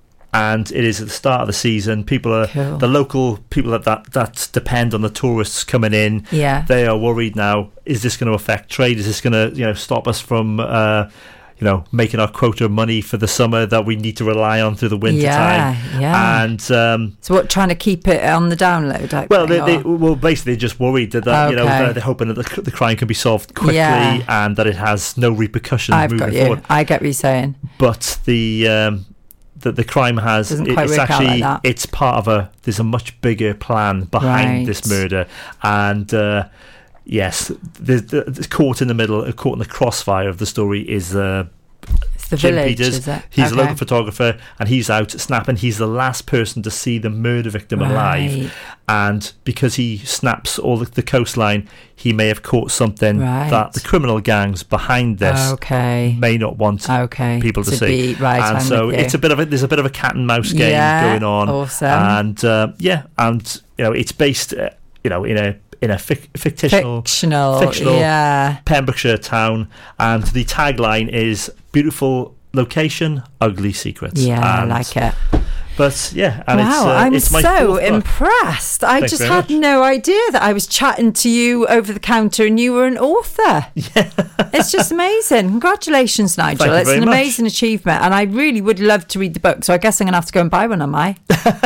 and it is at the start of the season. People are Cool. the local people that, that that depend on the tourists coming in. Yeah. They are worried now. Is this going to affect trade? Is this going to you know stop us from uh, you know making our quota of money for the summer that we need to rely on through the winter Yeah, time? yeah. And um, So what, trying to keep it on the download? Type well, they, thing, they or- well basically they're just worried that, that you know Okay. they're, they're hoping that the, the crime can be solved quickly Yeah. and that it has no repercussions I've moving got you. forward. I get what you're saying. But the um, the, the crime has Doesn't it- quite it's work out actually like that. it's part of a there's a much bigger plan behind Right. this murder, and uh, yes, the, the, the caught in the middle, uh, caught in the crossfire of the story is. Uh, It's the Jim village, Peters. is it? He's a Okay. local photographer, and he's out snapping. He's the last person to see the murder victim Right. alive, and because he snaps all the, the coastline, he may have caught something Right. that the criminal gangs behind this Okay. may not want Okay. people to, To see. be- right, and I'm so with you. it's a bit of a, there's a bit of a cat and mouse game Yeah, going on. awesome. And uh, yeah, and you know it's based, uh, you know, in a in a fic- fictional, Fictional, fictional yeah. Pembrokeshire town, and the tagline is "Beautiful location, ugly secrets." Yeah, I And- like it. But yeah, and wow, it's, uh, I'm it's my so fourth book. impressed. I Thanks just very had much. no idea that I was chatting to you over the counter and you were an author. Yeah. It's just amazing. Congratulations, Nigel. Thank you It's very an much. amazing achievement. And I really would love to read the book. So I guess I'm going to have to go and buy one, am I?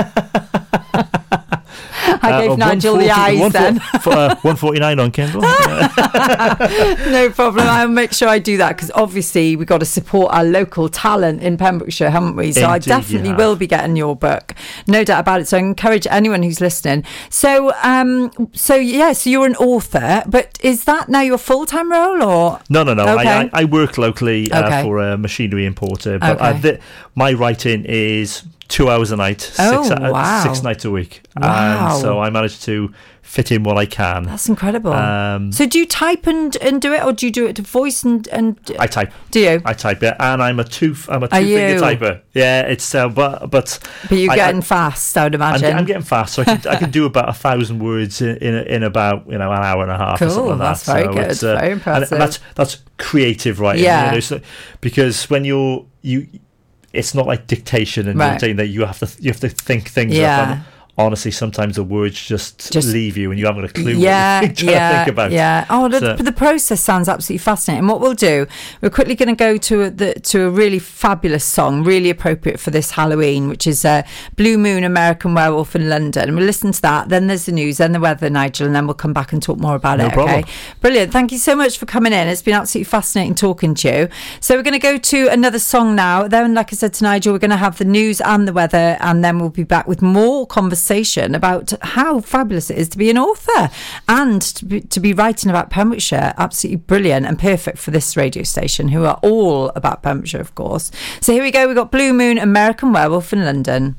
I gave Uh, Nigel the one forty eyes then. For, uh, one forty-nine on Kindle. No problem. I'll make sure I do that because obviously we've got to support our local talent in Pembrokeshire, haven't we? So I Indeed you definitely have. will be getting your book, no doubt about it. So I encourage anyone who's listening. So, um, so yeah, so you're an author, but is that now your full time role or? No, no, no. Okay. I, I, I work locally uh, Okay. for a machinery importer, but uh, Okay. th- my writing is two hours a night, Oh, six, uh, wow. six nights a week. Wow. And so I manage to fit in what I can. That's incredible. Um, so do you type and, and do it, or do you do it to voice and and? I type. Do you? I type it, and I'm a two. I'm a Are two finger you? typer. Yeah, it's uh, but but. But you're I- getting I, fast, I would I'm, imagine. I'm getting fast, so I can, I can do about a thousand words in, in in about you know an hour and a half. or Cool, something like that's that. very So good, it's, uh, very and- impressive. And that's that's creative writing. Yeah. You know, so- because when you're you, it's not like dictation and Right. you're saying that you have to you have to think things Yeah. up. And honestly, sometimes the words just, Just- leave you and you haven't got a clue Yeah, what you're trying yeah, to think about. yeah. Oh, the, So- the process sounds absolutely fascinating. What we'll do, we're quickly going to go to a, the, to a really fabulous song, really appropriate for this Halloween, which is uh, Blue Moon, American Werewolf in London. And we'll listen to that. Then there's the news, then the weather, Nigel, and then we'll come back and talk more about No it. problem. Okay, brilliant. Thank you so much for coming in. It's been absolutely fascinating talking to you. So we're going to go to another song now. Then, like I said to Nigel, we're going to have the news and the weather, and then we'll be back with more conversation conversation about how fabulous it is to be an author and to be, to be writing about Pembrokeshire. Absolutely brilliant and perfect for this radio station, who are all about Pembrokeshire, of course. So here we go. We've got Blue Moon, American Werewolf in London.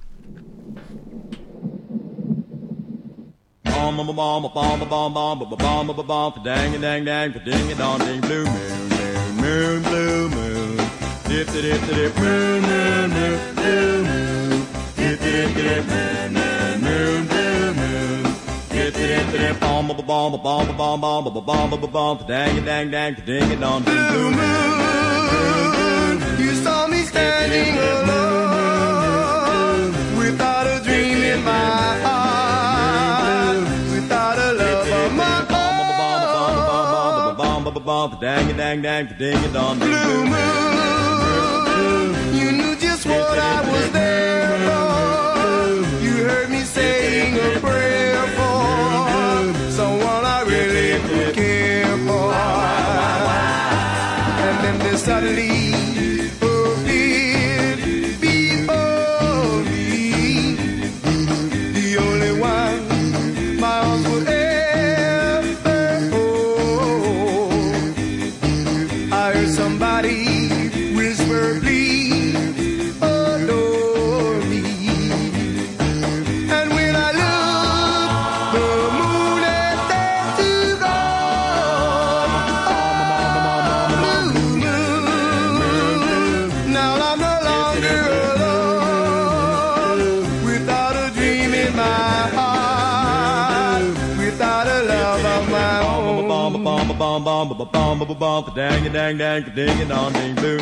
Bomb bomb bomb bomb bomb bomb bomb bomb bomb dang dang dang ding it on ding blue moon moon moon blue moon dip dip dip moon moon moon blue moon dip dip dip moon moon moon blue moon dip dip dip bomb bomb bomb bomb bomb bomb bomb bomb dang dang dang ding it on ding blue moon. You saw me standing alone without a dream in my heart. Dang it, dang, dang, ding it on the blue moon. You knew just what I was there for. You heard me saying a prayer for someone I really could care for. And then there suddenly appeared before me the only one my arms would ever. Somebody whisper, please adore me. And when I look, the moon is there to go. Blue moon. Now I'm no longer alone, without a dream in my heart, without a love of my own. Bomb, bomb, bomb, bomb, bomb, bomb, bomb, bomb, dang it, dang, dang, ding it on, ding, blue.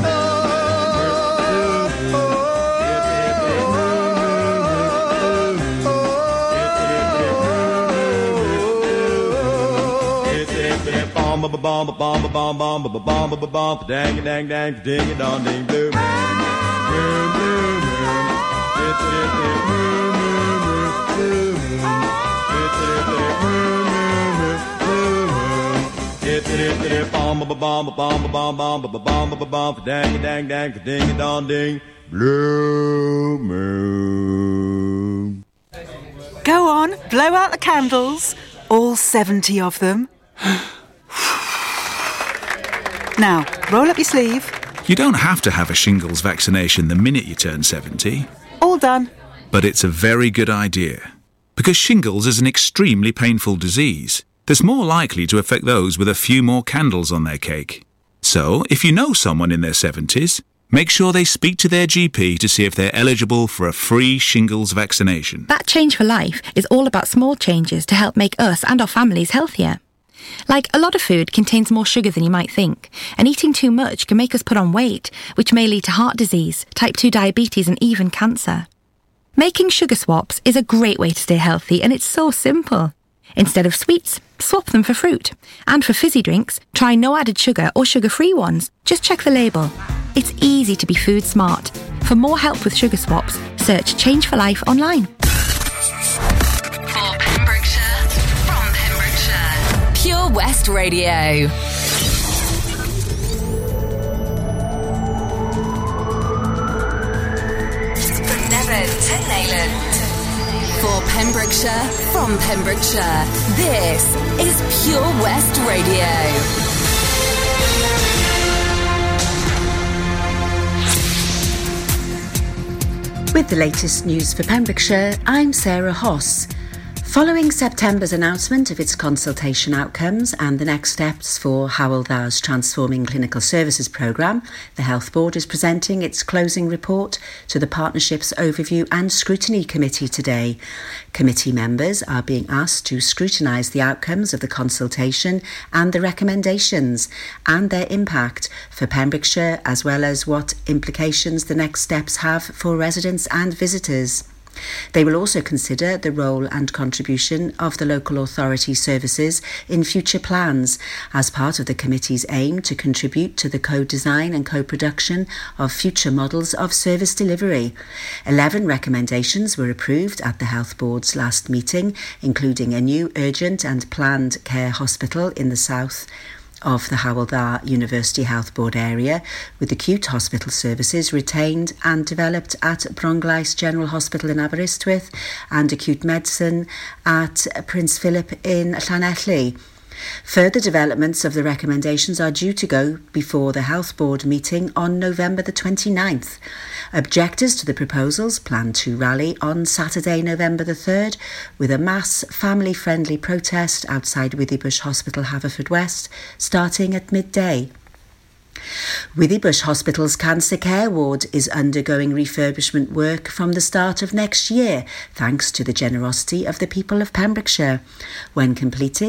Bomb, bomb, bomb, bomb, bomb, bomb, bomb, bomb, bomb, dang it, dang, dang, ding it on, ding, blue. Blue, blue, bomb bomb bomb bomb bomb bomb bomb bomb dang dang dang ding dong ding blue moon. Go on, blow out the candles, all seventy of them. Now, roll up your sleeve. You don't have to have a shingles vaccination the minute you turn seventy. All done. But it's a very good idea, because shingles is an extremely painful disease that's more likely to affect those with a few more candles on their cake. So, if you know someone in their seventies, make sure they speak to their G P to see if they're eligible for a free shingles vaccination. That Change for Life is all about small changes to help make us and our families healthier. Like, a lot of food contains more sugar than you might think, and eating too much can make us put on weight, which may lead to heart disease, type two diabetes and even cancer. Making sugar swaps is a great way to stay healthy, and it's so simple. Instead of sweets, swap them for fruit. And for fizzy drinks, try no added sugar or sugar-free ones. Just check the label. It's easy to be food smart. For more help with sugar swaps, search Change for Life online. For Pembrokeshire, from Pembrokeshire, Pure West Radio. From Devon to Neyland. For Pembrokeshire, from Pembrokeshire, this is Pure West Radio. With the latest news for Pembrokeshire, I'm Sarah Hoss. Following September's announcement of its consultation outcomes and the next steps for Hywel Dda's Transforming Clinical Services programme, the Health Board is presenting its closing report to the Partnership's Overview and Scrutiny Committee today. Committee members are being asked to scrutinise the outcomes of the consultation and the recommendations and their impact for Pembrokeshire, as well as what implications the next steps have for residents and visitors. They will also consider the role and contribution of the local authority services in future plans as part of the committee's aim to contribute to the co-design and co-production of future models of service delivery. Eleven recommendations were approved at the Health Board's last meeting, including a new urgent and planned care hospital in the south of the Hywel Dda University Health Board area, with acute hospital services retained and developed at Bronglais General Hospital in Aberystwyth and acute medicine at Prince Philip in Llanelli. Further developments of the recommendations are due to go before the Health Board meeting on November the twenty-ninth. Objectors to the proposals plan to rally on Saturday, November the third, with a mass family-friendly protest outside Withybush Hospital, Haverfordwest, starting at midday. Withybush Hospital's Cancer Care Ward is undergoing refurbishment work from the start of next year, thanks to the generosity of the people of Pembrokeshire. When completed,